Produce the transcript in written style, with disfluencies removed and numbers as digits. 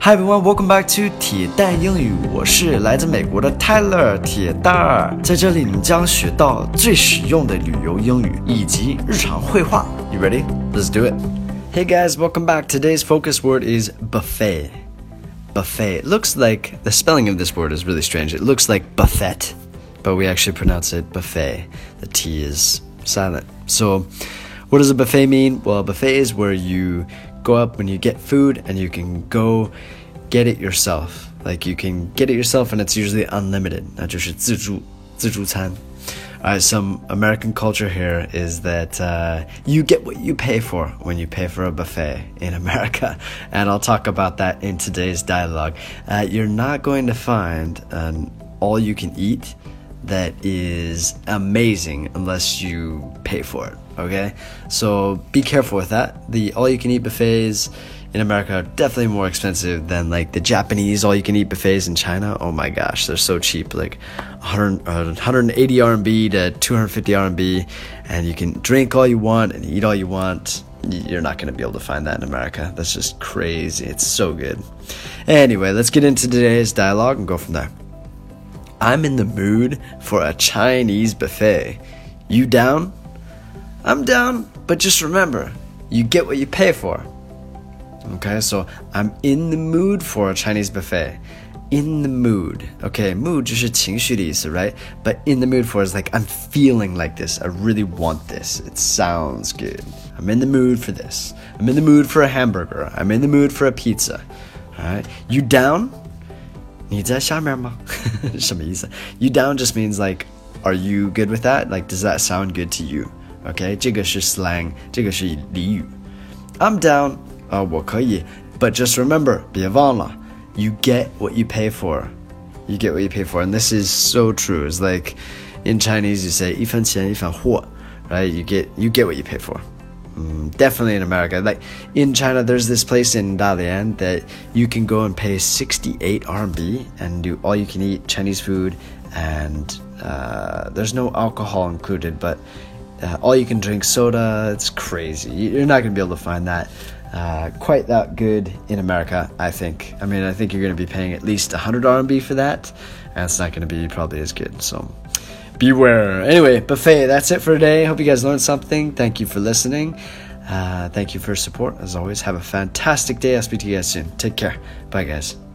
Hi everyone, welcome back to 铁蛋英语，我是来自美国的 Tyler 铁蛋儿，在这里你将学到最实用的旅游英语以及日常会话。You ready? Let's do it. Hey guys, welcome back. Today's focus word is buffet. Buffet. It looks like the spelling of this word is really strange. It looks like buffet, but we actually pronounce it buffet. The T is silent. So, what does a buffet mean? Well, a buffet is where you go up when you get food and you can go get it yourself. Like you can get it yourself and it's usually unlimited. 那就是自助餐. Alright, some American culture here is that you get what you pay for when you pay for a buffet in America. And I'll talk about that in today's dialogue. You're not going to find an all-you-can-eat that is amazing unless you pay for it, okay? So be careful with that. The all-you-can-eat buffets in America are definitely more expensive than like the Japanese all-you-can-eat buffets in China. Oh my gosh, they're so cheap, like 180 RMB to 250 RMB, and you can drink all you want and eat all you want. You're not going to be able to find that in America. That's just crazy. It's so good. Anyway, let's get into today's dialogue and go from there. I'm in the mood for a Chinese buffet. You down? I'm down, but just remember, you get what you pay for. Okay, so I'm in the mood for a Chinese buffet. In the mood. Okay, mood 就是情绪的意思, right? But in the mood for is like, I'm feeling like this. I really want this. It sounds good. I'm in the mood for this. I'm in the mood for a hamburger. I'm in the mood for a pizza. Alright, you down? 你在下面吗？什么意思？ You down just means like, are you good with that? Like, does that sound good to you? Okay, 这个是 slang, 这个是俚语。I'm down. 我可以。But just remember, 别忘了, you get what you pay for. You get what you pay for. And this is so true. It's like, in Chinese you say, 一分钱一分货, right? You get what you pay for. Definitely in America. Like in China, there's this place in Dalian that you can go and pay 68 RMB and do all you can eat Chinese food, and there's no alcohol included, but all you can drink soda. It's crazy. You're not going to be able to find that quite that good in America, I think. I mean, I think you're going to be paying at least 100 RMB for that, and it's not going to be probably as good. So beware. Anyway, buffet, that's it for today. Hope you guys learned something. Thank you for listening. Thank you for your support. As always, have a fantastic day. I'll speak to you guys soon. Take care. Bye, guys.